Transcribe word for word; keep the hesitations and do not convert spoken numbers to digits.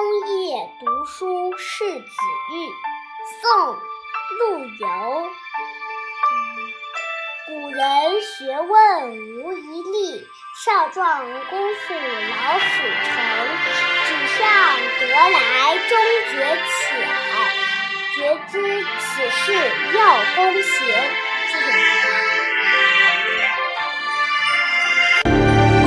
枫叶读书识子玉，宋·陆游。古人学问无一例，少壮功夫老始成。纸上得来终觉浅，绝知此事要躬行。谢谢大家。